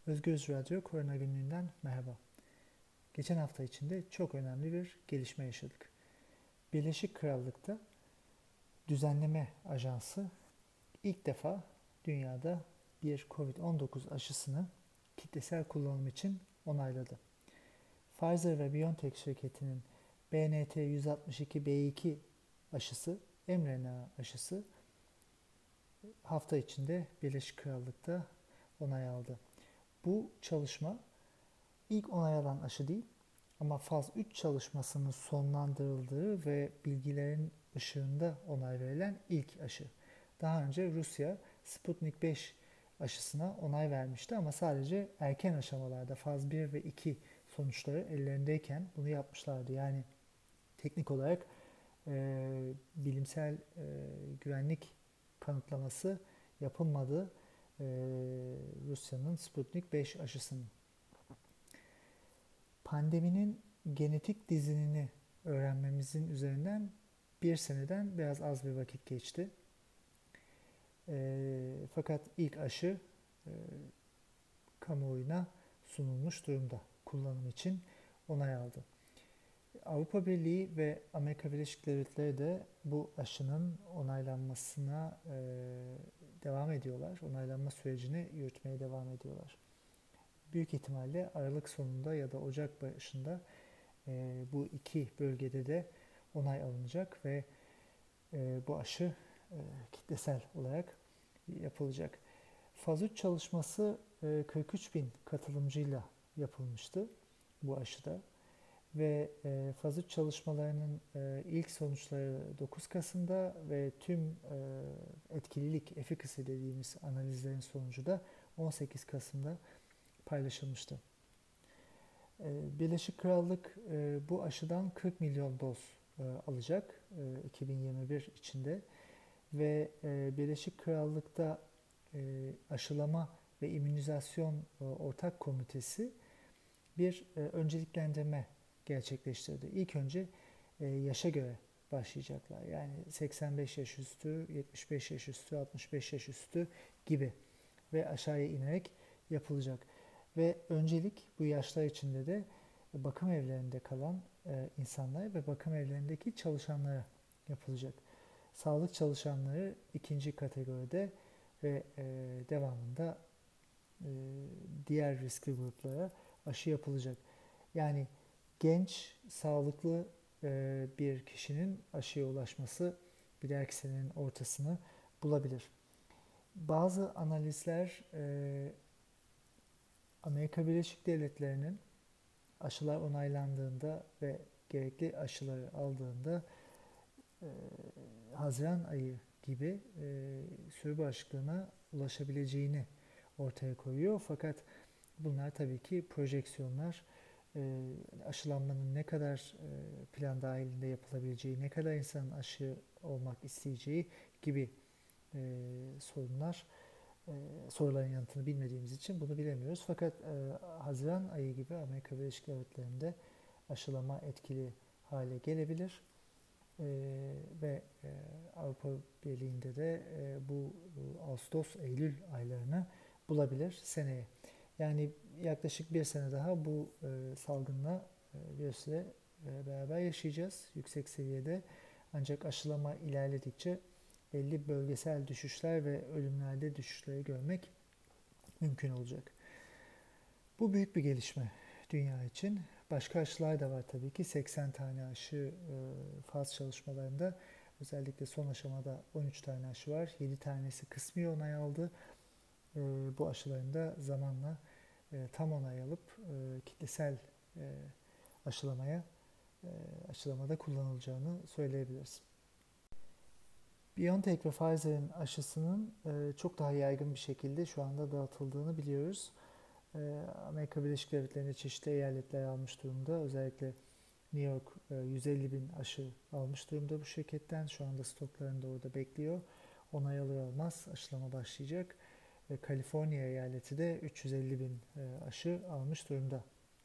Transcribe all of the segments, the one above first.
Özgürüz Radyo Korona Günlüğü'nden merhaba. Geçen hafta içinde çok önemli bir gelişme yaşadık. Birleşik Krallık'ta Düzenleme Ajansı ilk defa dünyada bir COVID-19 aşısını kitlesel kullanım için onayladı. Pfizer ve BioNTech şirketinin BNT162b2 aşısı, mRNA aşısı hafta içinde Birleşik Krallık'ta onay aldı. Bu çalışma İlk onay alan aşı değil ama faz 3 çalışmasının sonlandırıldığı ve bilgilerin ışığında onay verilen ilk aşı. Daha önce Rusya Sputnik 5 aşısına onay vermişti ama sadece erken aşamalarda faz 1 ve 2 sonuçları ellerindeyken bunu yapmışlardı. Yani teknik olarak bilimsel güvenlik kanıtlaması yapılmadı Rusya'nın Sputnik 5 aşısının. Pandeminin genetik dizinini öğrenmemizin üzerinden bir seneden biraz az bir vakit geçti. Fakat ilk aşı kamuoyuna sunulmuş durumda. Kullanım için onay aldı. Avrupa Birliği ve Amerika Birleşik Devletleri de bu aşının onaylanmasına devam ediyorlar. Onaylanma sürecini yürütmeye devam ediyorlar. Büyük ihtimalle Aralık sonunda ya da Ocak başında bu iki bölgede de onay alınacak ve bu aşı kitlesel olarak yapılacak. Faz 3 çalışması 43 bin katılımcıyla yapılmıştı bu aşıda ve faz 3 çalışmalarının ilk sonuçları 9 Kasım'da ve tüm etkililik, efficacy dediğimiz analizlerin sonucu da 18 Kasım'da paylaşılmıştı. Birleşik Krallık bu aşıdan 40 milyon doz alacak 2021 içinde ve Birleşik Krallık'ta aşılama ve immünizasyon ortak komitesi bir önceliklendirme gerçekleştirdi. İlk önce yaşa göre başlayacaklar. Yani 85 yaş üstü, 75 yaş üstü, 65 yaş üstü gibi ve aşağıya inerek yapılacak. Ve öncelik bu yaşlar içinde de bakım evlerinde kalan insanlara ve bakım evlerindeki çalışanlara yapılacak. Sağlık çalışanları ikinci kategoride ve devamında diğer riskli gruplara aşı yapılacak. Yani genç, sağlıklı bir kişinin aşıya ulaşması bir dahaki senenin ortasını bulabilir. Bazı analizler Amerika Birleşik Devletleri'nin aşılar onaylandığında ve gerekli aşıları aldığında e, Haziran ayı gibi sürü bağışıklığına ulaşabileceğini ortaya koyuyor. Fakat bunlar tabii ki projeksiyonlar. Aşılanmanın ne kadar plan dahilinde yapılabileceği, ne kadar insanın aşı olmak isteyeceği gibi sorunlar. Soruların yanıtını bilmediğimiz için bunu bilemiyoruz. Fakat Haziran ayı gibi Amerika Birleşik Devletleri'nde aşılama etkili hale gelebilir. Ve Avrupa Birliği'nde de bu Ağustos-Eylül aylarını bulabilir seneye. Yani yaklaşık bir sene daha bu salgınla bir süre beraber yaşayacağız yüksek seviyede. Ancak aşılama ilerledikçe belli bölgesel düşüşler ve ölümlerde düşüşleri görmek mümkün olacak. Bu büyük bir gelişme dünya için. Başka aşılar da var tabii ki. 80 tane aşı faz çalışmalarında özellikle son aşamada 13 tane aşı var. 7 tanesi kısmi onay aldı. Bu aşıların da zamanla tam onay alıp kitlesel aşılamaya aşılamada kullanılacağını söyleyebiliriz. BioNTech ve Pfizer'in aşısının çok daha yaygın bir şekilde şu anda dağıtıldığını biliyoruz. Amerika Birleşik Devletleri'nde çeşitli eyaletler almış durumda. Özellikle New York 150 bin aşı almış durumda bu şirketten. Şu anda stoklarında orada bekliyor. Onay alır almaz aşılama başlayacak. Kaliforniya eyaleti de 350 bin aşı almış durumda.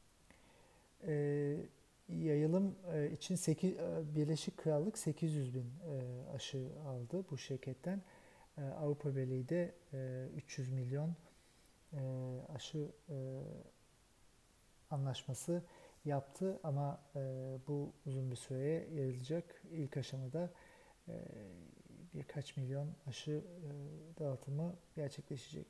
Yayılım için Birleşik Krallık 800 bin aşı aldı bu şirketten. Avrupa Birliği de 300 milyon aşı anlaşması yaptı ama bu uzun bir süreye yayılacak. İlk aşamada e, birkaç milyon aşı dağıtımı gerçekleşecek.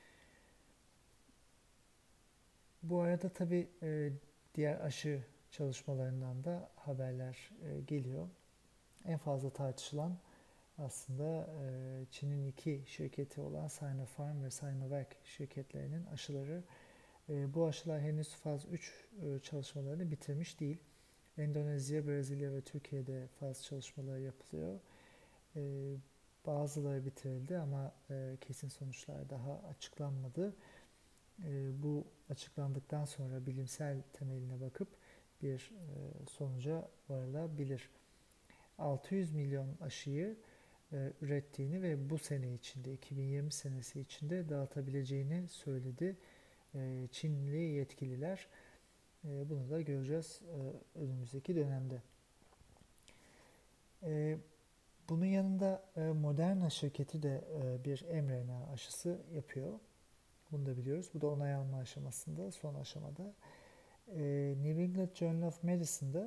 Bu arada tabii diğer aşı çalışmalarından da haberler geliyor. En fazla tartışılan aslında Çin'in iki şirketi olan Sinopharm ve Sinovac şirketlerinin aşıları. Bu aşılar henüz faz 3 çalışmalarını bitirmiş değil. Endonezya, Brezilya ve Türkiye'de faz çalışmaları yapılıyor. E, Bazıları bitirildi ama kesin sonuçlar daha açıklanmadı. Bu açıklandıktan sonra bilimsel temeline bakıp bir sonuca varılabilir. 600 milyon aşıyı ürettiğini ve bu sene içinde 2020 senesi içinde dağıtabileceğini söyledi Çinli yetkililer. Bunu da göreceğiz önümüzdeki dönemde. Bunun yanında Moderna şirketi de bir mRNA aşısı yapıyor. Bunu da biliyoruz. Bu da onay alma aşamasında, son aşamada. New England Journal of Medicine'da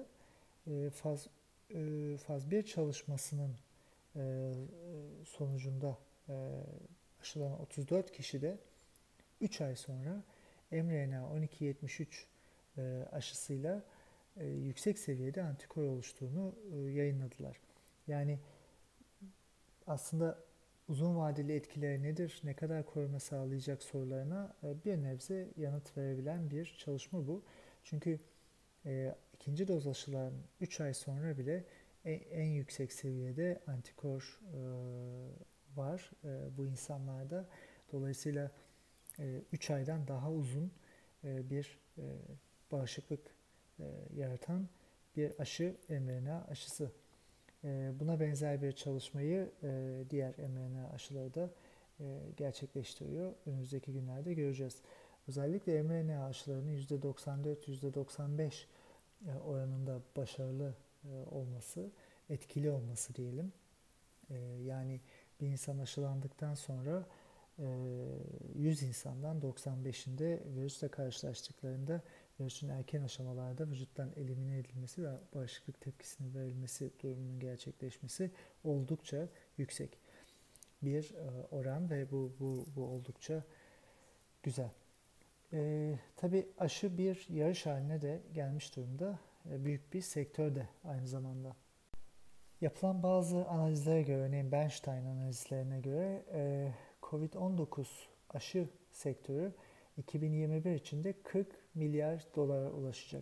faz 1 çalışmasının sonucunda aşılanan 34 kişide 3 ay sonra mRNA 1273 aşısıyla yüksek seviyede antikor oluştuğunu yayınladılar. Yani aslında uzun vadeli etkileri nedir, ne kadar koruma sağlayacak sorularına bir nebze yanıt verebilen bir çalışma bu. Çünkü ikinci doz aşılan 3 ay sonra bile en yüksek seviyede antikor var bu insanlarda. Dolayısıyla 3 aydan daha uzun bir bağışıklık yaratan bir aşı mRNA aşısı. Buna benzer bir çalışmayı diğer mRNA aşıları da gerçekleştiriyor. Önümüzdeki günlerde göreceğiz. Özellikle mRNA aşılarının %94-%95 oranında başarılı olması, etkili olması diyelim. Yani bir insan aşılandıktan sonra 100 insandan 95'inde virüsle karşılaştıklarında virüsün erken aşamalarda vücuttan elimine edilmesi ve bağışıklık tepkisinin verilmesi durumunun gerçekleşmesi oldukça yüksek bir oran ve bu oldukça güzel. Tabii aşı bir yarış haline de gelmiş durumda. Büyük bir sektör de aynı zamanda. Yapılan bazı analizlere göre, örneğin Bernstein analizlerine göre COVID-19 aşı sektörü 2021 içinde 40 milyar dolara ulaşacak.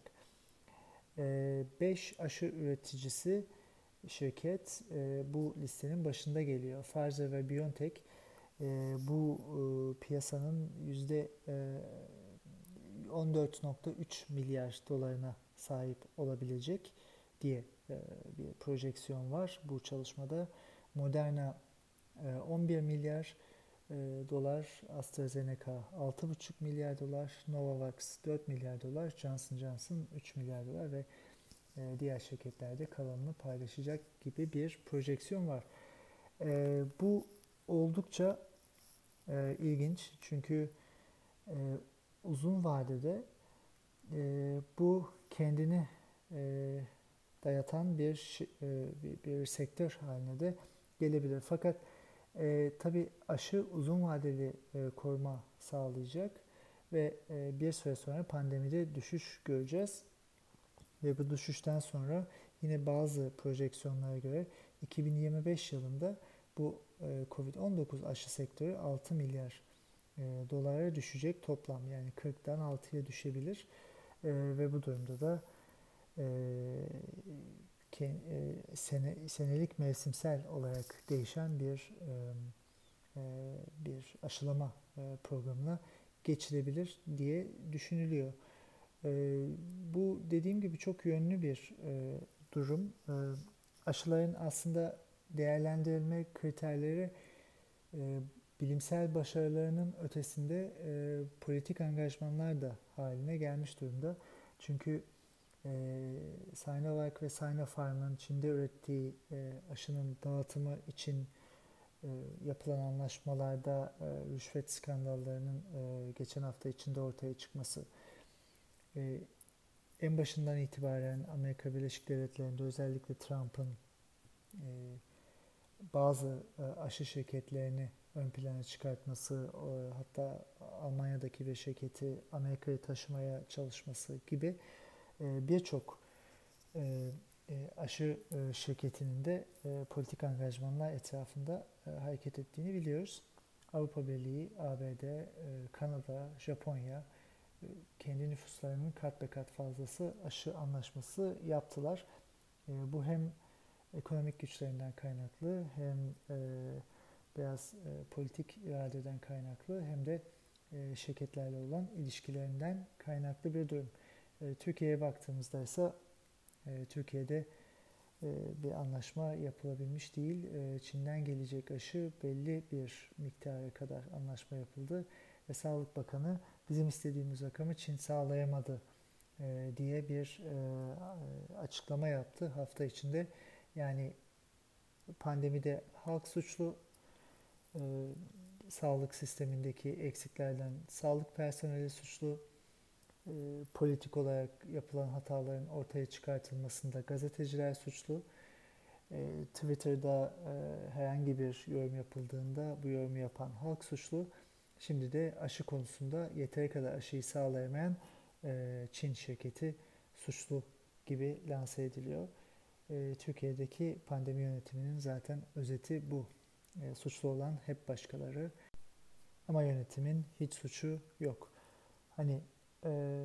5 aşı üreticisi şirket bu listenin başında geliyor. Pfizer ve BioNTech bu piyasanın %14,3 milyar dolarına sahip olabilecek diye bir projeksiyon var bu çalışmada. Moderna 11 milyar dolar, AstraZeneca 6,5 milyar dolar, Novavax 4 milyar dolar, Johnson Johnson 3 milyar dolar ve diğer şirketlerde kalanını paylaşacak gibi bir projeksiyon var. Bu oldukça ilginç çünkü uzun vadede bu kendini dayatan bir sektör haline de gelebilir. Fakat tabii aşı uzun vadeli koruma sağlayacak ve bir süre sonra pandemide düşüş göreceğiz. Ve bu düşüşten sonra yine bazı projeksiyonlara göre 2025 yılında bu COVID-19 aşı sektörü 6 milyar dolara düşecek toplam. Yani 40'dan 6'ya düşebilir. Ve bu durumda da senelik mevsimsel olarak değişen bir aşılama programına geçilebilir diye düşünülüyor. Bu dediğim gibi çok yönlü bir durum. Aşıların aslında değerlendirilme kriterleri bilimsel başarılarının ötesinde politik angajmanlar da haline gelmiş durumda. Çünkü Sinovac ve Sinopharm'ın Çin'de ürettiği aşının dağıtımı için yapılan anlaşmalarda rüşvet skandallarının geçen hafta içinde ortaya çıkması, e, en başından itibaren Amerika Birleşik Devletleri'nde özellikle Trump'ın e, bazı aşı şirketlerini ön plana çıkartması, hatta Almanya'daki bir şirketi Amerika'ya taşımaya çalışması gibi birçok aşı şirketinin de politik angajmanlar etrafında hareket ettiğini biliyoruz. Avrupa Birliği, ABD, Kanada, Japonya kendi nüfuslarının kat be kat fazlası aşı anlaşması yaptılar. Bu hem ekonomik güçlerinden kaynaklı hem biraz politik iradeden kaynaklı hem de şirketlerle olan ilişkilerinden kaynaklı bir durum. Türkiye'ye baktığımızda ise Türkiye'de bir anlaşma yapılabilmiş değil. Çin'den gelecek aşı belli bir miktara kadar anlaşma yapıldı ve Sağlık Bakanı bizim istediğimiz rakamı Çin sağlayamadı diye bir açıklama yaptı hafta içinde. Yani pandemide halk suçlu, e, sağlık sistemindeki eksiklerden sağlık personeli suçlu, politik olarak yapılan hataların ortaya çıkartılmasında gazeteciler suçlu. Twitter'da herhangi bir yorum yapıldığında bu yorumu yapan halk suçlu. Şimdi de aşı konusunda yeteri kadar aşıyı sağlayamayan Çin şirketi suçlu gibi lanse ediliyor. Türkiye'deki pandemi yönetiminin zaten özeti bu. Suçlu olan hep başkaları ama yönetimin hiç suçu yok. Hani e,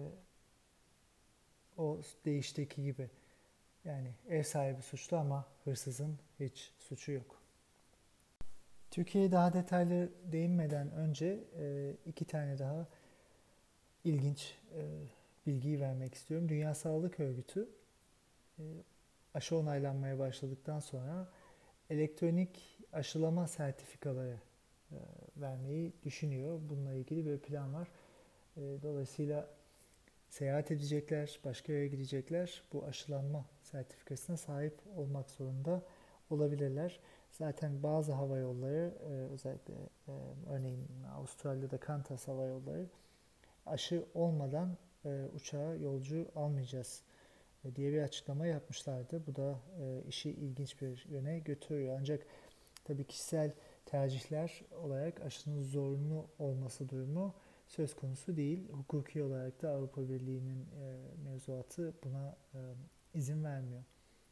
o deyişteki gibi, yani ev sahibi suçlu ama hırsızın hiç suçu yok. Türkiye'ye daha detaylı değinmeden önce iki tane daha ilginç bilgiyi vermek istiyorum. Dünya Sağlık Örgütü e, aşı onaylanmaya başladıktan sonra elektronik aşılama sertifikaları vermeyi düşünüyor. Bununla ilgili bir plan var. Dolayısıyla seyahat edecekler, başka yere gidecekler. Bu aşılanma sertifikasına sahip olmak zorunda olabilirler. Zaten bazı hava yolları, özellikle örneğin Avustralya'da Qantas Hava Yolları aşı olmadan uçağa yolcu almayacağız diye bir açıklama yapmışlardı. Bu da işi ilginç bir yöne götürüyor. Ancak tabii kişisel tercihler olarak aşının zorunlu olması durumu söz konusu değil. Hukuki olarak da Avrupa Birliği'nin mevzuatı buna izin vermiyor.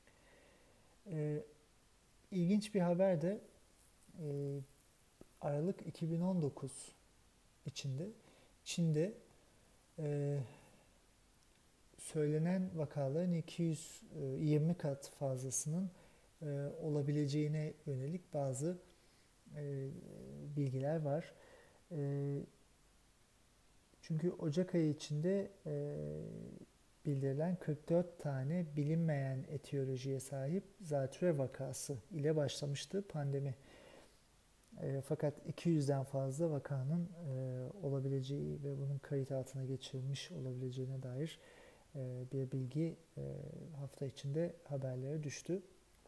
İlginç bir haber de e, Aralık 2019 içinde Çin'de e, söylenen vakaların 220 kat fazlasının olabileceğine yönelik bazı bilgiler var. Çünkü Ocak ayı içinde bildirilen 44 tane bilinmeyen etiyolojiye sahip zatürre vakası ile başlamıştı pandemi. Fakat 200'den fazla vakanın olabileceği ve bunun kayıt altına geçirilmiş olabileceğine dair bir bilgi hafta içinde haberlere düştü.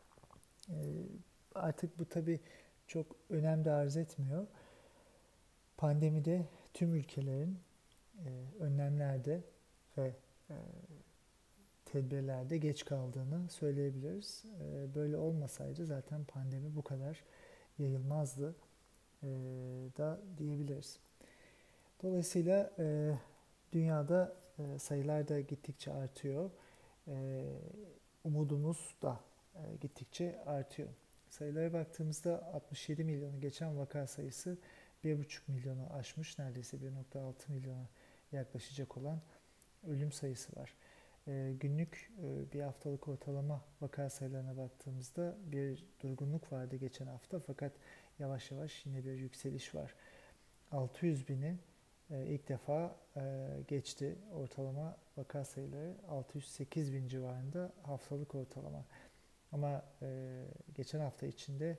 Artık bu tabii çok önem de arz etmiyor. Pandemide tüm ülkelerin önlemlerde ve tedbirlerde geç kaldığını söyleyebiliriz. Böyle olmasaydı zaten pandemi bu kadar yayılmazdı da diyebiliriz. Dolayısıyla dünyada sayılar da gittikçe artıyor. Umudumuz da gittikçe artıyor. Sayılara baktığımızda 67 milyonu geçen vaka sayısı 1,5 milyonu aşmış, neredeyse 1,6 milyona yaklaşacak olan ölüm sayısı var. Günlük bir haftalık ortalama vaka sayılarına baktığımızda bir durgunluk vardı geçen hafta, fakat yavaş yavaş yine bir yükseliş var. 600 bini ilk defa geçti ortalama vaka sayıları, 608 bin civarında haftalık ortalama. Ama geçen hafta içinde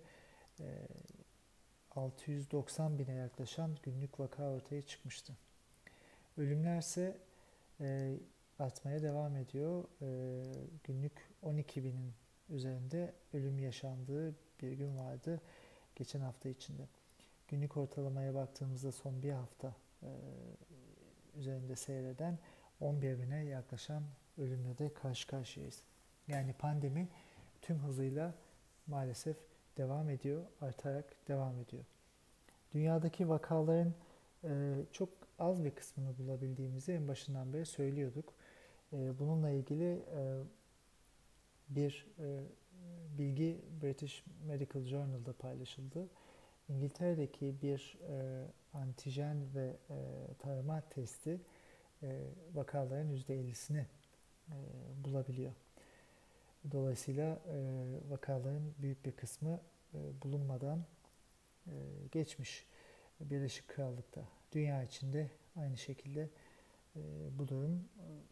690 bine yaklaşan günlük vaka ortaya çıkmıştı. Ölümlerse artmaya devam ediyor. Günlük 12 binin üzerinde ölüm yaşandığı bir gün vardı. geçen hafta içinde. Günlük ortalamaya baktığımızda son bir hafta üzerinde seyreden 11 bine yaklaşan ölümle de karşı karşıyayız. Yani pandemi tüm hızıyla maalesef devam ediyor, artarak devam ediyor. Dünyadaki vakaların çok az bir kısmını bulabildiğimizi en başından beri söylüyorduk. Bununla ilgili bir bilgi British Medical Journal'da paylaşıldı. İngiltere'deki bir antijen ve tarama testi vakaların %50'sini bulabiliyor. Dolayısıyla vakaların büyük bir kısmı bulunmadan geçmiş Birleşik Krallık'ta. Dünya içinde aynı şekilde bu durum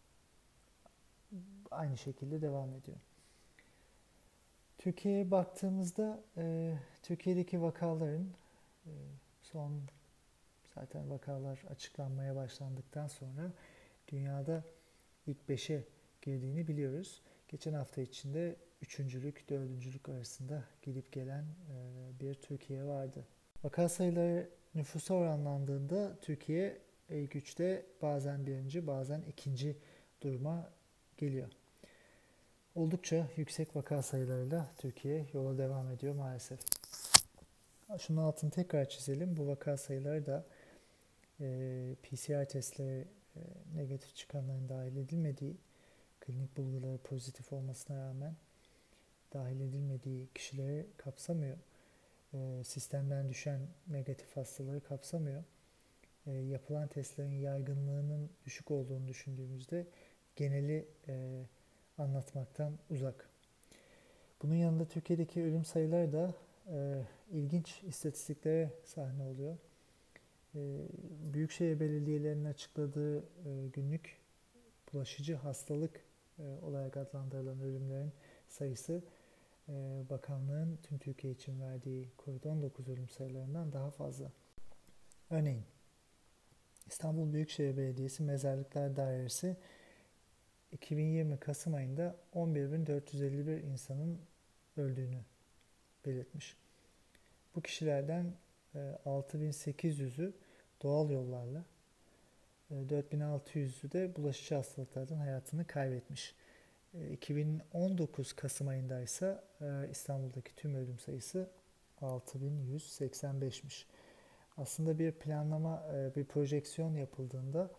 aynı şekilde devam ediyor. Türkiye'ye baktığımızda Türkiye'deki vakaların son zaten vakalar açıklanmaya başlandıktan sonra dünyada ilk 5'e girdiğini biliyoruz. Geçen hafta içinde 3.lük, 4.lük arasında gidip gelen bir Türkiye vardı. Vaka sayıları nüfusa oranlandığında Türkiye ilk 3'te bazen birinci, bazen ikinci duruma geliyor. Oldukça yüksek vaka sayılarıyla Türkiye yola devam ediyor maalesef. Şunun altını tekrar çizelim. Bu vaka sayıları da PCR testleri negatif çıkanların dahil edilmediği, klinik bulguları pozitif olmasına rağmen dahil edilmediği kişileri kapsamıyor. Sistemden düşen negatif hastaları kapsamıyor. Yapılan testlerin yaygınlığının düşük olduğunu düşündüğümüzde geneli anlatmaktan uzak. Bunun yanında Türkiye'deki ölüm sayıları da ilginç istatistiklere sahne oluyor. Büyükşehir belediyelerinin açıkladığı günlük bulaşıcı hastalık olarak adlandırılan ölümlerin sayısı bakanlığın tüm Türkiye için verdiği COVID-19 ölüm sayılarından daha fazla. Örneğin İstanbul Büyükşehir Belediyesi Mezarlıklar Dairesi 2020 Kasım ayında 11.451 insanın öldüğünü belirtmiş. Bu kişilerden 6.800'ü doğal yollarla, 4.600'ü de bulaşıcı hastalıklardan hayatını kaybetmiş. 2019 Kasım ayında ise İstanbul'daki tüm ölüm sayısı 6.185'miş. Aslında bir planlama, bir projeksiyon yapıldığında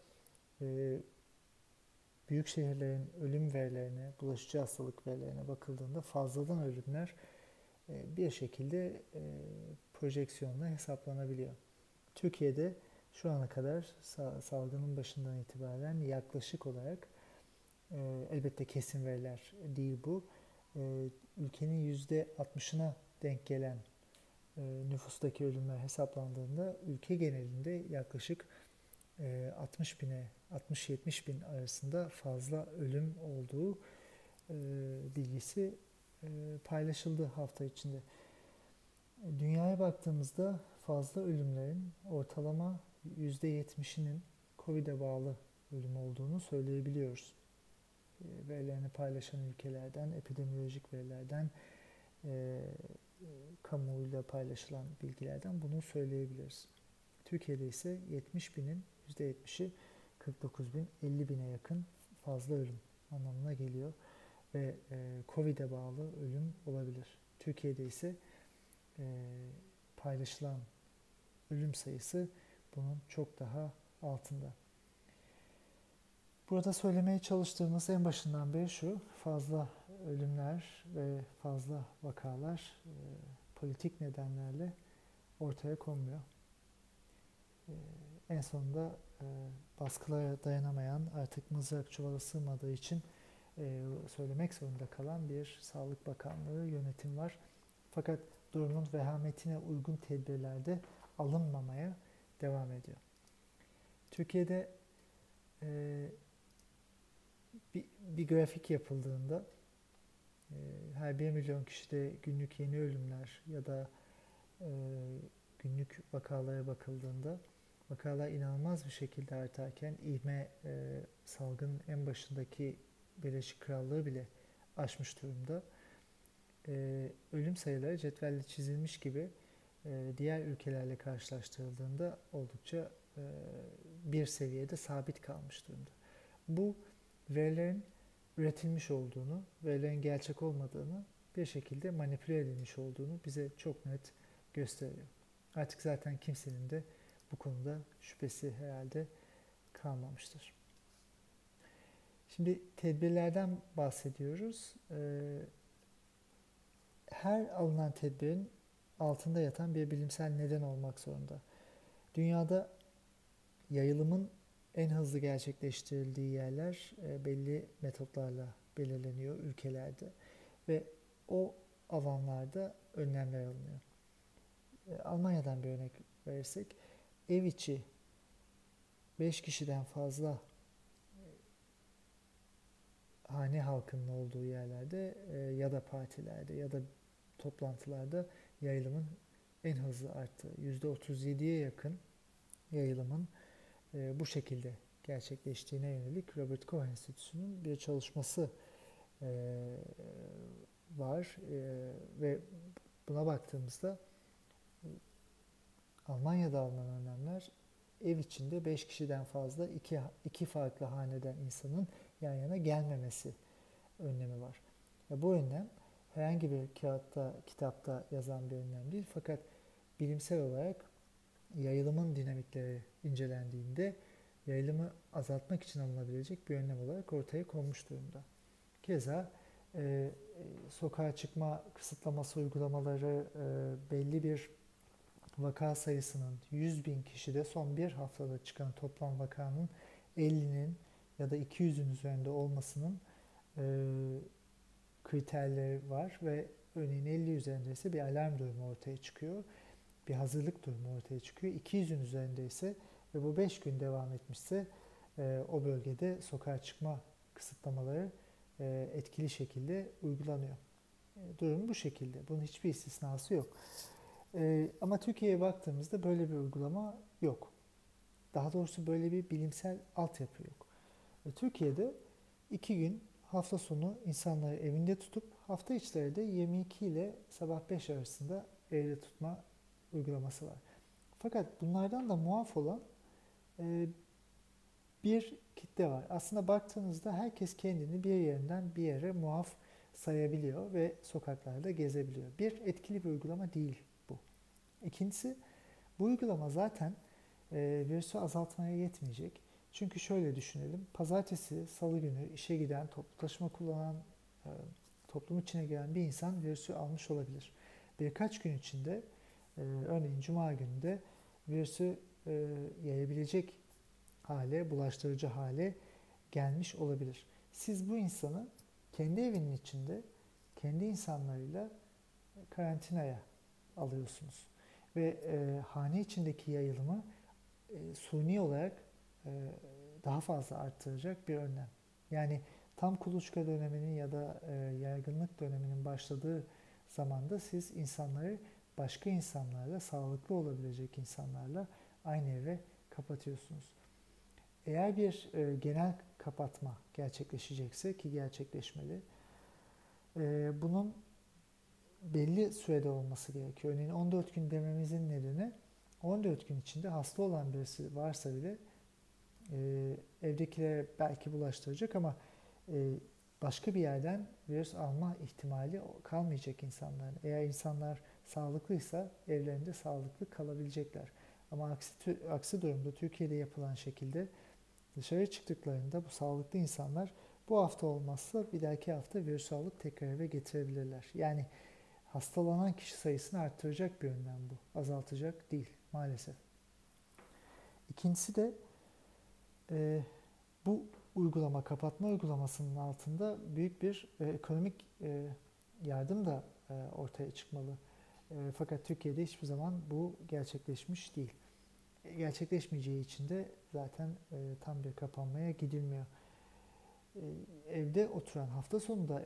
büyük şehirlerin ölüm verilerine, bulaşıcı hastalık verilerine bakıldığında fazladan ölümler bir şekilde projeksiyonla hesaplanabiliyor. Türkiye'de şu ana kadar salgının başından itibaren yaklaşık olarak elbette kesin veriler değil bu. Ülkenin %60'ına denk gelen nüfustaki ölümler hesaplandığında ülke genelinde yaklaşık 60 bine 60-70 bin arasında fazla ölüm olduğu bilgisi paylaşıldı hafta içinde. Dünyaya baktığımızda fazla ölümlerin ortalama %70'inin COVID'e bağlı ölüm olduğunu söyleyebiliyoruz. Verilerini paylaşan ülkelerden, epidemiolojik verilerden, kamuoyuyla paylaşılan bilgilerden bunu söyleyebiliriz. Türkiye'de ise 70 binin %70'i 49 bin, 50 bine yakın fazla ölüm anlamına geliyor ve COVID'e bağlı ölüm olabilir. Türkiye'de ise paylaşılan ölüm sayısı bunun çok daha altında. Burada söylemeye çalıştığımız en başından beri şu: fazla ölümler ve fazla vakalar politik nedenlerle ortaya konmuyor. En sonunda baskılara dayanamayan, artık mızrak çuvala sığmadığı için söylemek zorunda kalan bir Sağlık Bakanlığı yönetim var. Fakat durumun vehametine uygun tedbirler de alınmamaya devam ediyor. Türkiye'de bir grafik yapıldığında her 1 milyon kişide günlük yeni ölümler ya da günlük vakalara bakıldığında vakalar inanılmaz bir şekilde artarken ivme salgının en başındaki Birleşik Krallığı bile aşmış durumda. Ölüm sayıları cetvelle çizilmiş gibi diğer ülkelerle karşılaştırıldığında oldukça bir seviyede sabit kalmış durumda. Bu verilerin üretilmiş olduğunu, verilerin gerçek olmadığını, bir şekilde manipüle edilmiş olduğunu bize çok net gösteriyor. Artık zaten kimsenin de bu konuda şüphesi herhalde kalmamıştır. Şimdi tedbirlerden bahsediyoruz. Her alınan tedbirin altında yatan bir bilimsel neden olmak zorunda. Dünyada yayılımın en hızlı gerçekleştirildiği yerler belli metotlarla belirleniyor ülkelerde ve o alanlarda önlemler alınıyor. Almanya'dan bir örnek verirsek, ev içi 5 kişiden fazla hane halkının olduğu yerlerde ya da partilerde ya da toplantılarda yayılımın en hızlı arttığı, %37'ye yakın yayılımın bu şekilde gerçekleştiğine yönelik Robert Koch Enstitüsü'nün bir çalışması var ve buna baktığımızda Almanya'da alınan önlemler ev içinde 5 kişiden fazla iki farklı haneden insanın yan yana gelmemesi önlemi var. Bu önlem herhangi bir kağıtta, kitapta yazan bir önlem değil, fakat bilimsel olarak yayılımın dinamikleri incelendiğinde yayılımı azaltmak için alınabilecek bir önlem olarak ortaya konmuş durumda. Keza sokağa çıkma kısıtlaması uygulamaları belli bir vaka sayısının 100.000 kişide son bir haftada çıkan toplam vakanın 50'nin ya da 200'ün üzerinde olmasının kriterleri var ve örneğin 50 üzerinde ise bir alarm durumu ortaya çıkıyor. Bir hazırlık durumu ortaya çıkıyor. 200'ün üzerinde ise ve bu 5 gün devam etmişse o bölgede sokağa çıkma kısıtlamaları etkili şekilde uygulanıyor. Durum bu şekilde. Bunun hiçbir istisnası yok. Ama Türkiye'ye baktığımızda böyle bir uygulama yok. Daha doğrusu böyle bir bilimsel altyapı yok. Türkiye'de 2 gün hafta sonu insanları evinde tutup hafta içleri de 22 ile sabah 5 arasında evde tutma uygulaması var. Fakat bunlardan da muaf olan bir kitle var. Aslında baktığınızda herkes kendini bir yerinden bir yere muaf sayabiliyor ve sokaklarda gezebiliyor. Bir etkili bir uygulama değil bu. İkincisi, bu uygulama zaten virüsü azaltmaya yetmeyecek. Çünkü şöyle düşünelim, pazartesi, salı günü işe giden, toplu taşıma kullanan, toplum içine giren bir insan virüsü almış olabilir. Birkaç gün içinde, örneğin cuma gününde virüsü yayabilecek hale, bulaştırıcı hale gelmiş olabilir. Siz bu insanı kendi evinin içinde, kendi insanlarıyla karantinaya alıyorsunuz. Ve hane içindeki yayılımı suni olarak daha fazla arttıracak bir önlem. Yani tam kuluçka döneminin ya da yaygınlık döneminin başladığı zamanda siz insanları başka insanlarla, sağlıklı olabilecek insanlarla aynı eve kapatıyorsunuz. Eğer bir genel kapatma gerçekleşecekse, ki gerçekleşmeli, bunun belli sürede olması gerekiyor. Örneğin 14 gün dememizin nedeni 14 gün içinde hasta olan birisi varsa bile evdekilere belki bulaştıracak ama başka bir yerden virüs alma ihtimali kalmayacak insanların. Eğer insanlar sağlıklıysa evlerinde sağlıklı kalabilecekler. Ama aksi durumda Türkiye'de yapılan şekilde dışarı çıktıklarında bu sağlıklı insanlar bu hafta olmazsa bir dahaki hafta virüsü alıp tekrar eve getirebilirler. Yani hastalanan kişi sayısını arttıracak bir önlem bu. Azaltacak değil maalesef. İkincisi de bu uygulama, kapatma uygulamasının altında büyük bir ekonomik yardım da ortaya çıkmalı. Fakat Türkiye'de hiçbir zaman bu gerçekleşmiş değil. Gerçekleşmeyeceği için de zaten tam bir kapanmaya gidilmiyor. Evde oturan, hafta sonu da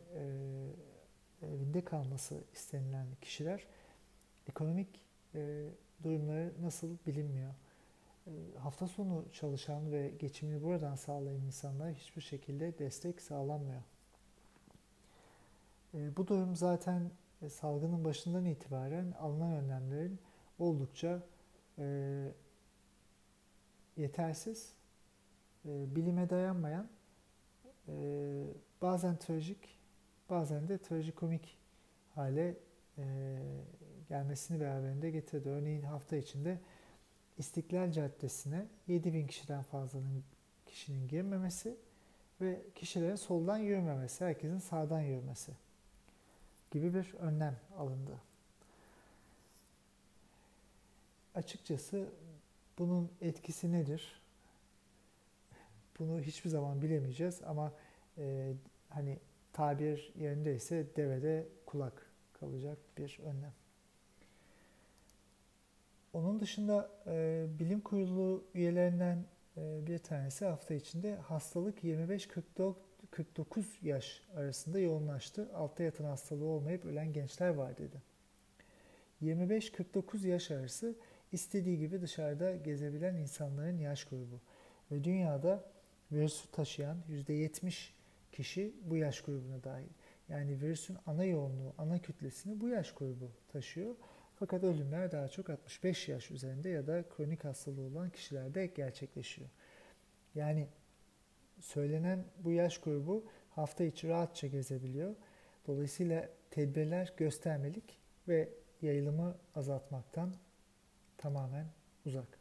evinde kalması istenilen kişiler ekonomik durumları nasıl bilinmiyor. Hafta sonu çalışan ve geçimini buradan sağlayan insanlara hiçbir şekilde destek sağlanmıyor. Bu durum zaten salgının başından itibaren alınan önlemlerin oldukça e, yetersiz, bilime dayanmayan, e, bazen trajik, bazen de trajikomik hale e, gelmesini beraberinde getirdi. Örneğin hafta içinde İstiklal Caddesi'ne 7.000 kişiden fazlanın kişinin girmemesi ve kişilerin soldan yürümemesi, herkesin sağdan yürümesi gibi bir önlem alındı. Açıkçası bunun etkisi nedir? Bunu hiçbir zaman bilemeyeceğiz ama hani tabir yerindeyse devede kulak kalacak bir önlem. Onun dışında bilim kurulu üyelerinden bir tanesi hafta içinde hastalık 25-49 yaş arasında yoğunlaştı. Altta yatan hastalığı olmayıp ölen gençler var dedi. 25-49 yaş arası istediği gibi dışarıda gezebilen insanların yaş grubu. Ve dünyada virüsü taşıyan %70 kişi bu yaş grubuna dahil. Yani virüsün ana yoğunluğu, ana kütlesini bu yaş grubu taşıyor. Fakat ölümler daha çok 65 yaş üzerinde ya da kronik hastalığı olan kişilerde gerçekleşiyor. Yani söylenen bu yaş grubu hafta içi rahatça gezebiliyor. Dolayısıyla tedbirler göstermelik ve yayılımı azaltmaktan tamamen uzak.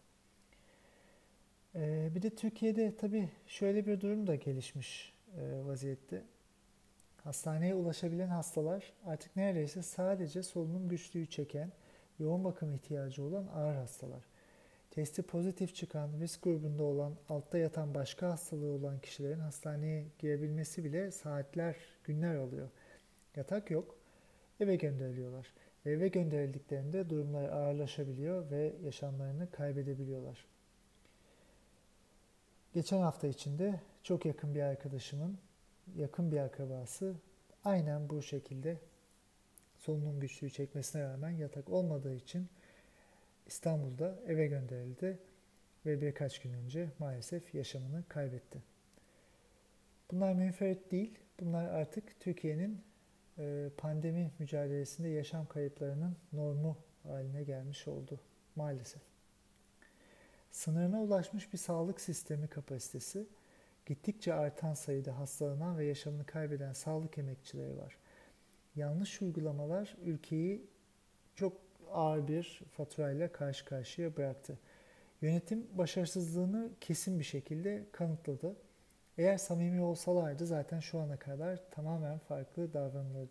Bir de Türkiye'de tabii şöyle bir durum da gelişmiş vaziyette. Hastaneye ulaşabilen hastalar artık neredeyse sadece solunum güçlüğü çeken, yoğun bakım ihtiyacı olan ağır hastalar. Testi pozitif çıkan, risk grubunda olan, altta yatan başka hastalığı olan kişilerin hastaneye girebilmesi bile saatler, günler alıyor. Yatak yok, eve gönderiliyorlar. Eve gönderildiklerinde durumları ağırlaşabiliyor ve yaşamlarını kaybedebiliyorlar. Geçen hafta içinde çok yakın bir arkadaşımın yakın bir akrabası aynen bu şekilde solunum güçlüğü çekmesine rağmen yatak olmadığı için İstanbul'da eve gönderildi ve birkaç gün önce maalesef yaşamını kaybetti. Bunlar münferit değil, bunlar artık Türkiye'nin pandemi mücadelesinde yaşam kayıplarının normu haline gelmiş oldu maalesef. Sınırına ulaşmış bir sağlık sistemi kapasitesi, gittikçe artan sayıda hastalanan ve yaşamını kaybeden sağlık emekçileri var. Yanlış uygulamalar ülkeyi çok ağır bir faturayla karşı karşıya bıraktı. Yönetim başarısızlığını kesin bir şekilde kanıtladı. Eğer samimi olsalardı zaten şu ana kadar tamamen farklı davranılırdı.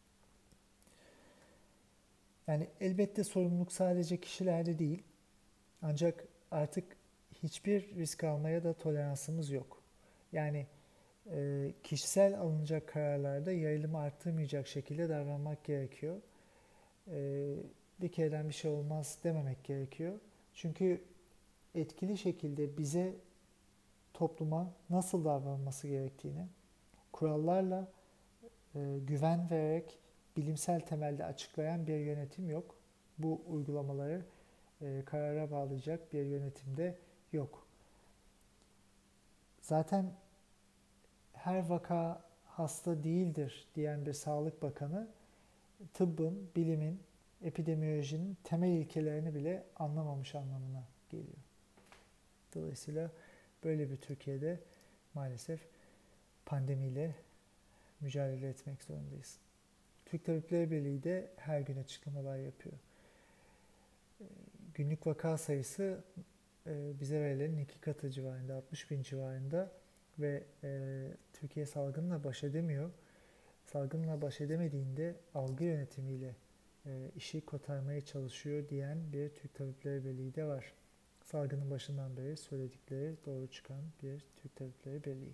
Yani elbette sorumluluk sadece kişilerde değil. Ancak artık hiçbir risk almaya da toleransımız yok. Yani kişisel alınacak kararlarda yayılımı arttırmayacak şekilde davranmak gerekiyor. Bir kereden bir şey olmaz dememek gerekiyor. Çünkü etkili şekilde bize, topluma nasıl davranılması gerektiğini kurallarla güven vererek bilimsel temelde açıklayan bir yönetim yok. Bu uygulamaları karara bağlayacak bir yönetimde yok. Zaten her vaka hasta değildir diyen bir Sağlık Bakanı tıbbın, bilimin, epidemiyolojinin temel ilkelerini bile anlamamış anlamına geliyor. Dolayısıyla böyle bir Türkiye'de maalesef pandemiyle mücadele etmek zorundayız. Türk Tabipleri Birliği de her gün açıklamalar yapıyor. Günlük vaka sayısı bize verilenin 2 katı civarında, 60 bin civarında ve Türkiye salgınla baş edemiyor. Salgınla baş edemediğinde algı yönetimiyle işi kotarmaya çalışıyor diyen bir Türk Tabipleri Birliği de var. Salgının başından beri söyledikleri doğru çıkan bir Türk Tabipleri Birliği.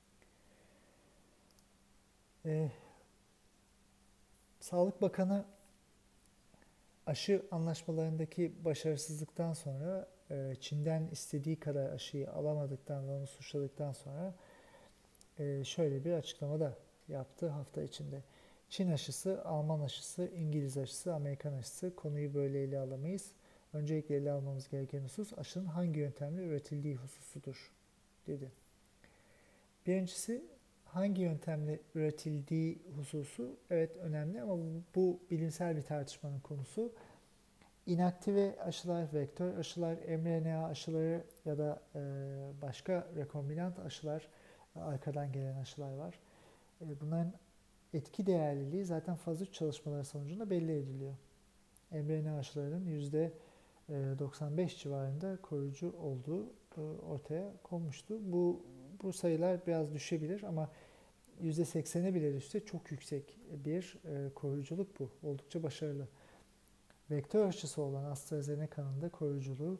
Sağlık Bakanı aşı anlaşmalarındaki başarısızlıktan sonra Çin'den istediği kadar aşıyı alamadıktan ve onu suçladıktan sonra şöyle bir açıklama da yaptı hafta içinde. Çin aşısı, Alman aşısı, İngiliz aşısı, Amerikan aşısı konuyu böyle ele alamayız. Öncelikle ele almamız gereken husus aşının hangi yöntemle üretildiği hususudur dedi. Birincisi hangi yöntemle üretildiği hususu evet önemli ama bu bilimsel bir tartışmanın konusu. İnaktive aşılar, vektör aşılar, mRNA aşıları ya da başka rekombinant aşılar, arkadan gelen aşılar var. Bunların etki değerliliği zaten faz 3 çalışmaları sonucunda belli ediliyor. mRNA aşılarının %95 civarında koruyucu olduğu ortaya konmuştu. Bu sayılar biraz düşebilir ama %80'e bile düşse çok yüksek bir koruyuculuk bu. Oldukça başarılı. Vektör aşısı olan AstraZeneca'nın da koruyuculuğu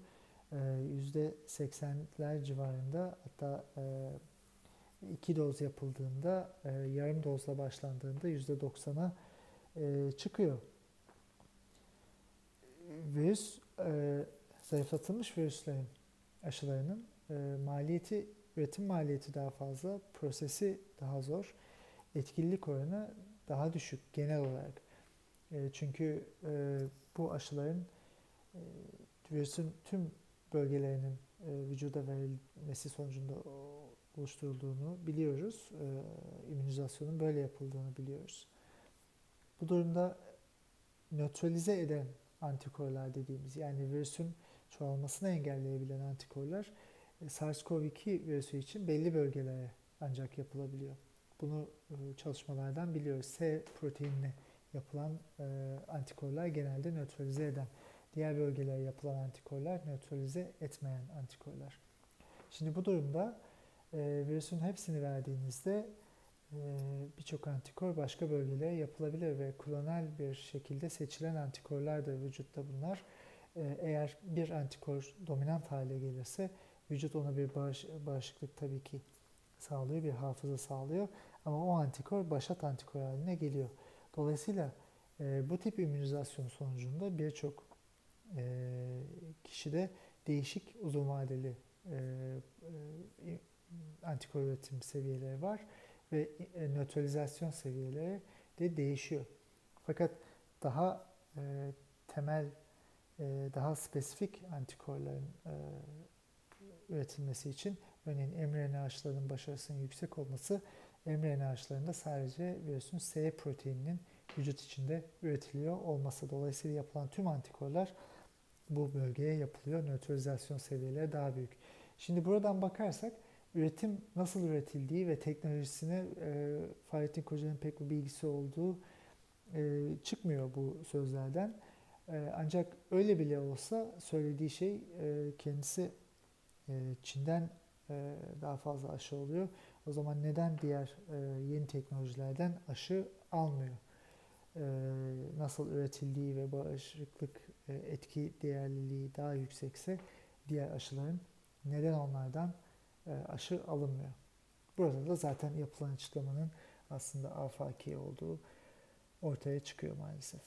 %80'ler civarında, hatta 2 doz yapıldığında, yarım dozla başlandığında %90'a çıkıyor. Virüs, zayıflatılmış virüslerin aşılarının üretim maliyeti daha fazla, prosesi daha zor, etkililik oranı daha düşük genel olarak. Çünkü bu aşıların virüsün tüm bölgelerinin vücuda verilmesi sonucunda oluşturulduğunu biliyoruz. İmmünizasyonun böyle yapıldığını biliyoruz. Bu durumda nötralize eden antikorlar dediğimiz, yani virüsün çoğalmasını engelleyebilen antikorlar SARS-CoV-2 virüsü için belli bölgelere ancak yapılabiliyor. Bunu çalışmalardan biliyoruz. S proteinine yapılan antikorlar genelde nötralize eden, diğer bölgelere yapılan antikorlar nötralize etmeyen antikorlar. Şimdi bu durumda virüsün hepsini verdiğinizde birçok antikor başka bölgelere yapılabilir ve klonal bir şekilde seçilen antikorlardır vücutta bunlar. Eğer bir antikor dominant hale gelirse vücut ona bir bağışıklık tabii ki sağlıyor, bir hafıza sağlıyor ama o antikor başat antikor haline geliyor. Dolayısıyla bu tip immünizasyon sonucunda birçok kişide değişik uzun vadeli antikor üretim seviyeleri var ve nötralizasyon seviyeleri de değişiyor. Fakat daha temel, daha spesifik antikorların üretilmesi için örneğin mRNA aşılarının başarısının yüksek olması, mRNA aşılarında sadece virüsün S proteininin vücut içinde üretiliyor olması. Dolayısıyla yapılan tüm antikorlar bu bölgeye yapılıyor. Nötralizasyon seviyeleri daha büyük. Şimdi buradan bakarsak üretim nasıl üretildiği ve teknolojisine Fahrettin Koca'nın pek bir bilgisi olduğu çıkmıyor bu sözlerden. Ancak öyle bile olsa söylediği şey, kendisi Çin'den daha fazla aşı oluyor. O zaman neden diğer yeni teknolojilerden aşı almıyor? Nasıl üretildiği ve bağışıklık etki değerliliği daha yüksekse diğer aşıların neden onlardan aşı alınmıyor? Burada da zaten yapılan açıklamanın aslında afaki olduğu ortaya çıkıyor maalesef.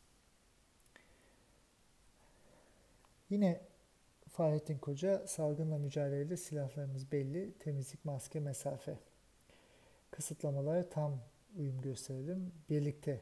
Yine Fahrettin Koca, salgınla mücadelede silahlarımız belli, temizlik, maske, mesafe. Kısıtlamalara tam uyum gösterelim, birlikte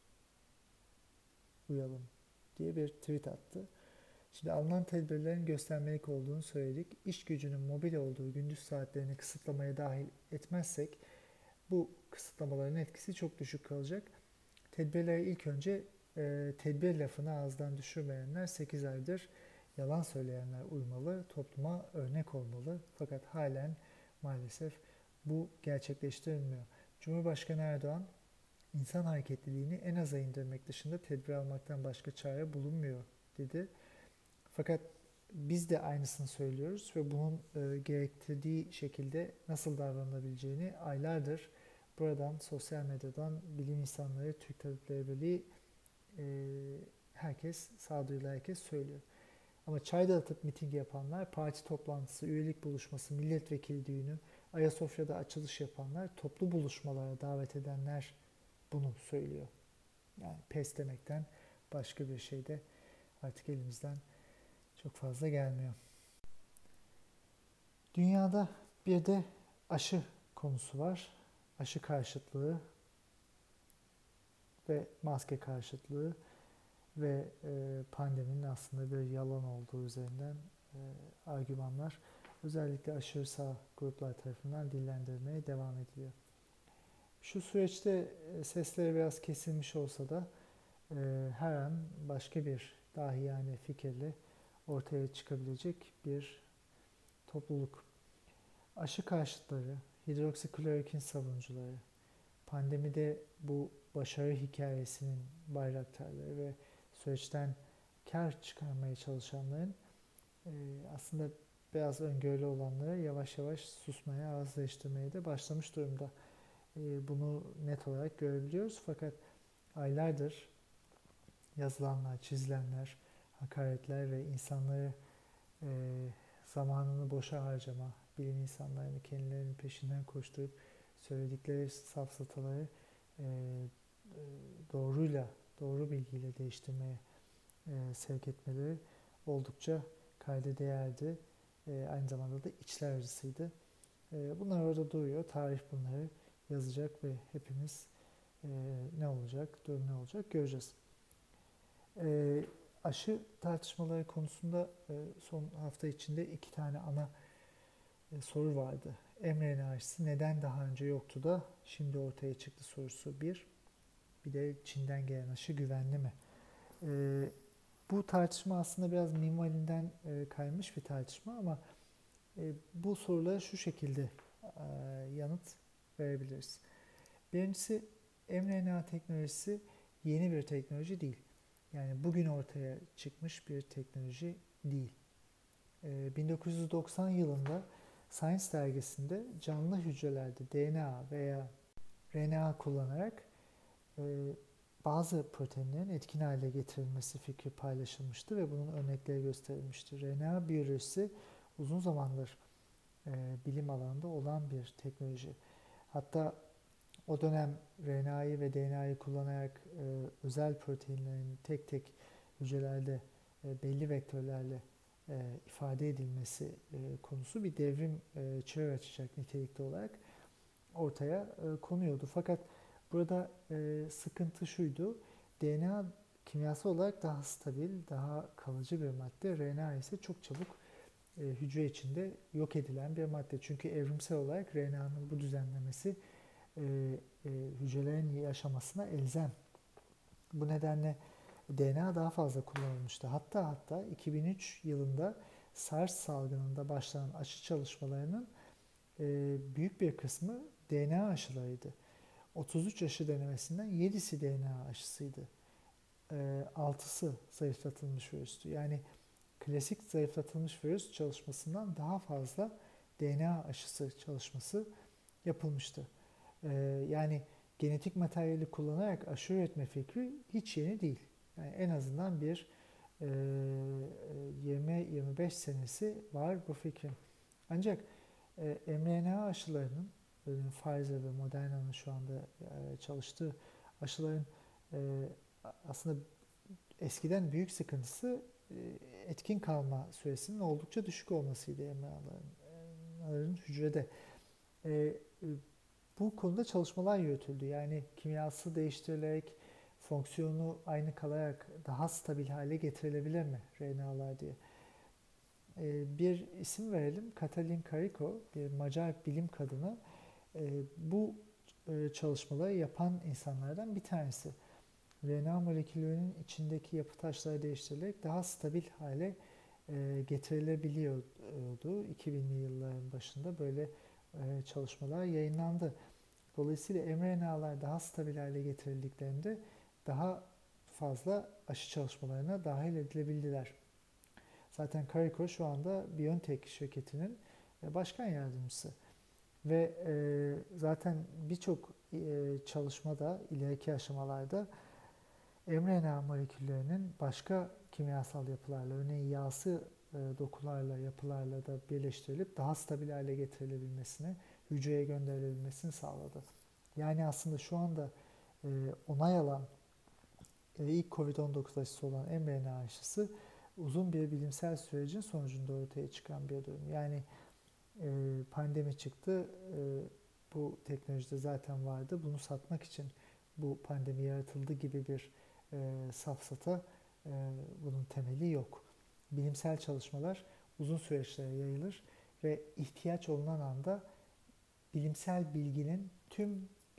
uyalım diye bir tweet attı. Şimdi alınan tedbirlerin göstermelik olduğunu söyledik. İş gücünün mobil olduğu gündüz saatlerini kısıtlamaya dahil etmezsek bu kısıtlamaların etkisi çok düşük kalacak. Tedbirlere ilk önce tedbir lafını ağızdan düşürmeyenler, 8 aydır yalan söyleyenler uymalı, topluma örnek olmalı. Fakat halen maalesef bu gerçekleştirilmiyor. Cumhurbaşkanı Erdoğan, insan hareketliliğini en aza indirmek dışında tedbir almaktan başka çare bulunmuyor dedi. Fakat biz de aynısını söylüyoruz ve bunun gerektirdiği şekilde nasıl davranılabileceğini aylardır buradan, sosyal medyadan, bilim insanları, Türk Tabipleri Birliği, herkes, sağduyulu herkes söylüyor. Ama çay dağıtıp miting yapanlar, parti toplantısı, üyelik buluşması, milletvekili düğünü, Ayasofya'da açılış yapanlar, toplu buluşmalara davet edenler bunu söylüyor. Yani pes demekten başka bir şey de artık elimizden çok fazla gelmiyor. Dünyada bir de aşı konusu var. Aşı karşıtlığı ve maske karşıtlığı ve pandeminin aslında bir yalan olduğu üzerinden argümanlar özellikle aşırı sağ gruplar tarafından dillendirilmeye devam ediliyor. Şu süreçte sesleri biraz kesilmiş olsa da her an başka bir dahiyane fikirle ortaya çıkabilecek bir topluluk. Aşı karşıtları, hidroksiklorokin savunucuları, pandemide bu başarı hikayesinin bayraktarları ve süreçten kar çıkarmaya çalışanların e, aslında biraz öngörülü olanları yavaş yavaş susmaya, ağızleştirmeye de başlamış durumda. Bunu net olarak görebiliyoruz. Fakat aylardır yazılanlar, çizilenler, hakaretler ve insanları e, zamanını boşa harcama, bilim insanlarını kendilerinin peşinden koşturup söyledikleri safsataları e, doğruyla, doğru bilgiyle değiştirmeye sevk etmeleri oldukça kayda değerdi. Aynı zamanda da içler acısıydı. Bunlar orada duruyor. Tarih bunları yazacak ve hepimiz ne olacak, durum ne olacak göreceğiz. Aşı tartışmaları konusunda son hafta içinde iki tane ana soru vardı. mRNA aşısı neden daha önce yoktu da şimdi ortaya çıktı sorusu bir. Bir de Çin'den gelen aşı güvenli mi? Bu tartışma aslında biraz minvalinden kaymış bir tartışma ama bu sorulara şu şekilde yanıt verebiliriz. Birincisi, mRNA teknolojisi yeni bir teknoloji değil. Yani bugün ortaya çıkmış bir teknoloji değil. 1990 yılında Science dergisinde canlı hücrelerde DNA veya RNA kullanarak e, bazı proteinlerin etkin hale getirilmesi fikri paylaşılmıştı ve bunun örnekleri gösterilmişti. RNA biyolojisi uzun zamandır bilim alanında olan bir teknoloji. Hatta o dönem RNA'yı ve DNA'yı kullanarak özel proteinlerin tek tek hücrelerde belli vektörlerle ifade edilmesi konusu bir devrim çığır açacak nitelikte olarak ortaya konuyordu. Fakat burada sıkıntı şuydu: DNA kimyasal olarak daha stabil, daha kalıcı bir madde. RNA ise çok çabuk hücre içinde yok edilen bir madde. Çünkü evrimsel olarak RNA'nın bu düzenlemesi hücrelerin yaşamasına elzem. Bu nedenle DNA daha fazla kullanılmıştı. Hatta 2003 yılında SARS salgınında başlanan aşı çalışmalarının büyük bir kısmı DNA aşılarıydı. 33 aşı denemesinden 7'si DNA aşısıydı. 6'sı zayıflatılmış virüstü. Yani klasik zayıflatılmış virüs çalışmasından daha fazla DNA aşısı çalışması yapılmıştı. Yani genetik materyali kullanarak aşı üretme fikri hiç yeni değil. Yani en azından bir 20-25 senesi var bu fikrin. Ancak mRNA aşılarının, Pfizer ve Moderna'nın şu anda çalıştığı aşıların aslında eskiden büyük sıkıntısı etkin kalma süresinin oldukça düşük olmasıydı mRNA'ların hücrede. Bu konuda çalışmalar yürütüldü. Yani kimyası değiştirilerek fonksiyonu aynı kalarak daha stabil hale getirilebilir mi RNA'lar diye. Bir isim verelim. Katalin Karikó, bir Macar bilim kadını. Bu çalışmaları yapan insanlardan bir tanesi. RNA moleküllerinin içindeki yapı taşları değiştirilerek daha stabil hale getirilebiliyordu. 2000'li yılların başında böyle çalışmalar yayınlandı. Dolayısıyla mRNA'lar daha stabil hale getirildiklerinde daha fazla aşı çalışmalarına dahil edilebildiler. Zaten Kariko şu anda BioNTech şirketinin başkan yardımcısı. Ve zaten birçok çalışmada, ileriki aşamalarda mRNA moleküllerinin başka kimyasal yapılarla, örneğin yağsı dokularla, yapılarla da birleştirilip daha stabil hale getirilebilmesini, hücreye gönderilebilmesini sağladı. Yani aslında şu anda onay alan ilk COVID-19 aşısı olan mRNA aşısı uzun bir bilimsel sürecin sonucunda ortaya çıkan bir durum. Yani pandemi çıktı, bu teknolojide zaten vardı. Bunu satmak için bu pandemi yaratıldı gibi bir safsata, bunun temeli yok. Bilimsel çalışmalar uzun süreçlere yayılır ve ihtiyaç olunan anda bilimsel bilginin tüm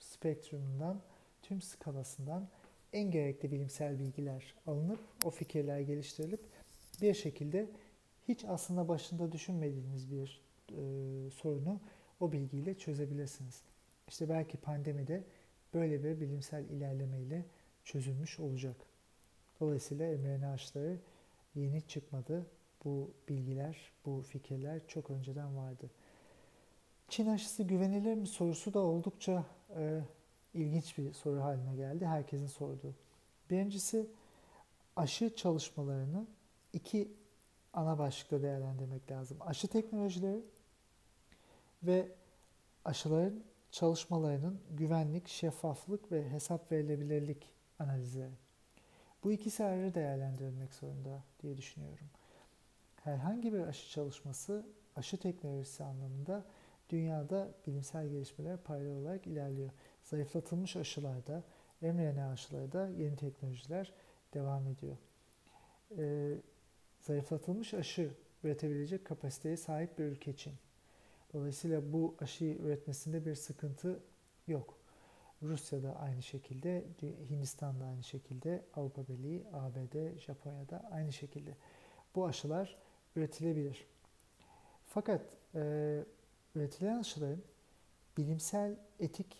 spektrumundan, tüm skalasından en gerekli bilimsel bilgiler alınıp, o fikirler geliştirilip bir şekilde hiç aslında başında düşünmediğiniz bir sorunu o bilgiyle çözebilirsiniz. İşte belki pandemide böyle bir bilimsel ilerlemeyle çözülmüş olacak. Dolayısıyla mRNA aşıları yeni çıkmadı. Bu bilgiler, bu fikirler çok önceden vardı. Çin aşısı güvenilir mi sorusu da oldukça ilginç bir soru haline geldi. Herkesin sorduğu. Birincisi, aşı çalışmalarını iki ana başlıkta değerlendirmek lazım. Aşı teknolojileri ve aşıların çalışmalarının güvenlik, şeffaflık ve hesap verilebilirlik analizleri. Bu ikisi ayrı değerlendirilmek zorunda diye düşünüyorum. Herhangi bir aşı çalışması, aşı teknolojisi anlamında dünyada bilimsel gelişmeler paralel olarak ilerliyor. Zayıflatılmış aşılarda, mRNA aşılarda yeni teknolojiler devam ediyor. Zayıflatılmış aşı üretebilecek kapasiteye sahip bir ülke Çin. Dolayısıyla bu aşıyı üretmesinde bir sıkıntı yok. Rusya'da aynı şekilde, Hindistan'da aynı şekilde, Avrupa Birliği, ABD, Japonya'da aynı şekilde. Bu aşılar üretilebilir. Fakat üretilen aşıların bilimsel, etik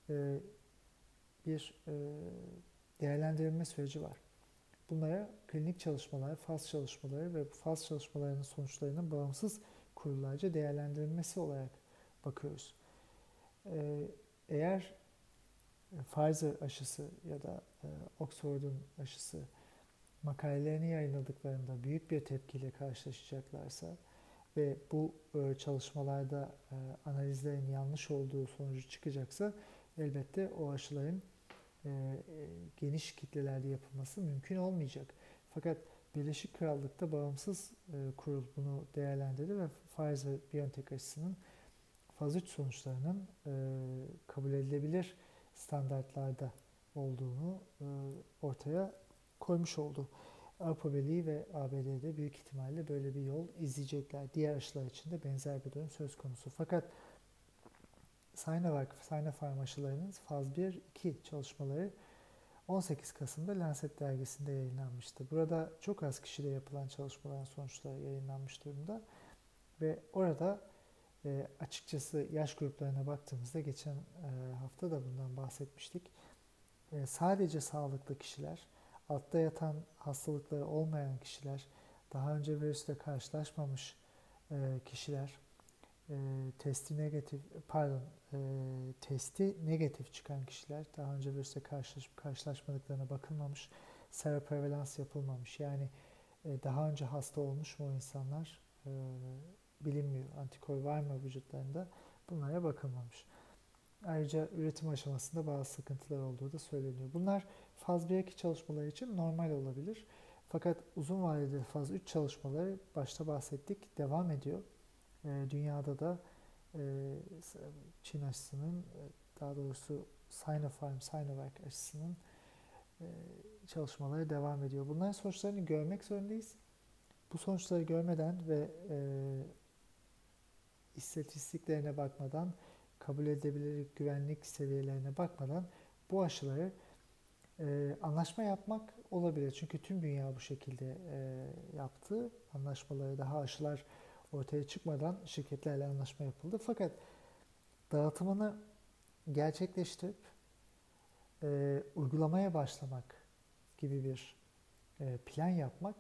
bir değerlendirilme süreci var. Bunlara klinik çalışmalar, faz çalışmaları ve bu faz çalışmalarının sonuçlarının bağımsız kurullarca değerlendirilmesi olarak bakıyoruz. Eğer Pfizer aşısı ya da Oxford'un aşısı makalelerini yayınladıklarında büyük bir tepkiyle karşılaşacaklarsa ve bu çalışmalarda analizlerin yanlış olduğu sonucu çıkacaksa elbette o aşıların geniş kitlelerde yapılması mümkün olmayacak. Fakat Birleşik Krallık'ta bağımsız kurul bunu değerlendirdi ve Pfizer-BioNTech aşısının faz 3 sonuçlarının kabul edilebilir standartlarda olduğunu ortaya koymuş oldu. Avrupa Birliği ve ABD'de büyük ihtimalle böyle bir yol izleyecekler. Diğer aşılar için de benzer bir durum söz konusu. Fakat Sinovac, Sinopharm aşılarının faz 1-2 çalışmaları 18 Kasım'da Lancet dergisinde yayınlanmıştı. Burada çok az kişide yapılan çalışmaların sonuçları yayınlanmış durumda ve orada açıkçası yaş gruplarına baktığımızda geçen hafta da bundan bahsetmiştik. Sadece sağlıklı kişiler, altta yatan hastalıkları olmayan kişiler, daha önce virüsle karşılaşmamış kişiler, testi negatif çıkan kişiler, daha önce virüsle karşılaşmadıklarına bakılmamış, seroprevalans yapılmamış. Yani daha önce hasta olmuş mu o insanlar bilinmiyor. Antikor var mı vücutlarında? Bunlara bakılmamış. Ayrıca üretim aşamasında bazı sıkıntılar olduğu da söyleniyor. Bunlar faz 1-2 çalışmaları için normal olabilir. Fakat uzun vadeli faz 3 çalışmaları başta bahsettik devam ediyor. Dünyada da Çin aşısının, daha doğrusu Sinopharm, Sinovac aşısının çalışmaları devam ediyor. Bunların sonuçlarını görmek zorundayız. Bu sonuçları görmeden ve istatistiklerine bakmadan, kabul edilebilir güvenlik seviyelerine bakmadan bu aşıları anlaşma yapmak olabilir. Çünkü tüm dünya bu şekilde yaptı. Anlaşmaları, daha aşılar ortaya çıkmadan şirketlerle anlaşma yapıldı. Fakat dağıtımını gerçekleştirip uygulamaya başlamak gibi bir plan yapmak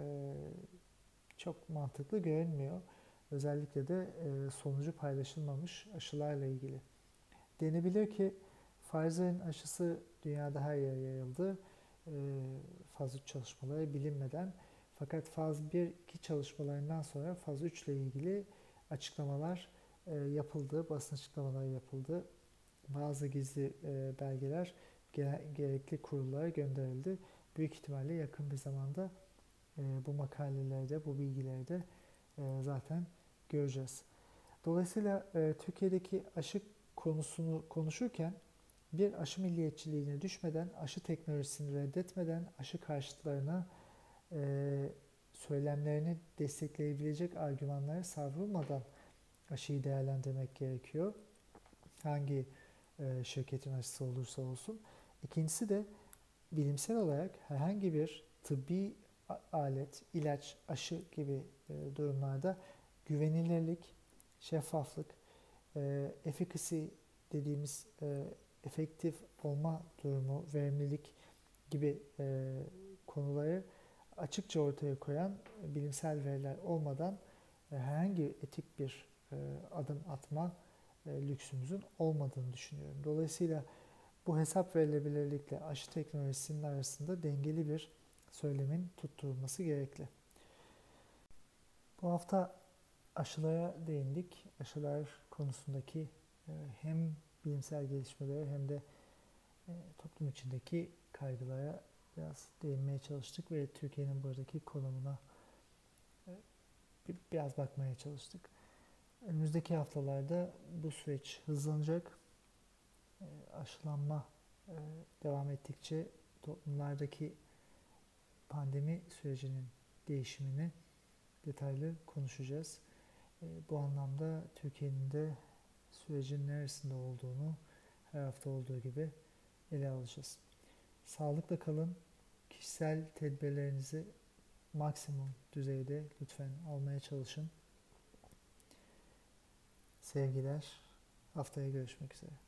çok mantıklı görünmüyor. Özellikle de sonucu paylaşılmamış aşılarla ilgili. Denebilir ki Pfizer'in aşısı dünyada her yere yayıldı. Faz 3 çalışmaları bilinmeden. Fakat faz 1-2 çalışmalarından sonra faz 3 ile ilgili açıklamalar yapıldı, basın açıklamaları yapıldı. Bazı gizli belgeler gerekli kurullara gönderildi. Büyük ihtimalle yakın bir zamanda bu makalelerde, bu bilgileri de zaten göreceğiz. Dolayısıyla Türkiye'deki aşı konusunu konuşurken bir aşı milliyetçiliğine düşmeden, aşı teknolojisini reddetmeden, aşı karşıtlarına söylemlerini destekleyebilecek argümanlara savrulmadan aşıyı değerlendirmek gerekiyor. Hangi şirketin aşısı olursa olsun. İkincisi de bilimsel olarak herhangi bir tıbbi alet, ilaç, aşı gibi durumlarda güvenilirlik, şeffaflık, efficacy dediğimiz efektif olma durumu, verimlilik gibi konuları açıkça ortaya koyan bilimsel veriler olmadan herhangi etik bir adım atma lüksümüzün olmadığını düşünüyorum. Dolayısıyla bu hesap verilebilirlikle aşı teknolojisinin arasında dengeli bir söylemin tutturulması gerekli. Bu hafta aşılara değindik. Aşılar konusundaki hem bilimsel gelişmelere hem de toplum içindeki kaygılara biraz değinmeye çalıştık ve Türkiye'nin buradaki konumuna biraz bakmaya çalıştık. Önümüzdeki haftalarda bu süreç hızlanacak. Aşılanma devam ettikçe toplumlardaki pandemi sürecinin değişimini detaylı konuşacağız. Bu anlamda Türkiye'nin de sürecin neresinde olduğunu her hafta olduğu gibi ele alacağız. Sağlıkla kalın. Kişisel tedbirlerinizi maksimum düzeyde lütfen almaya çalışın. Sevgiler. Haftaya görüşmek üzere.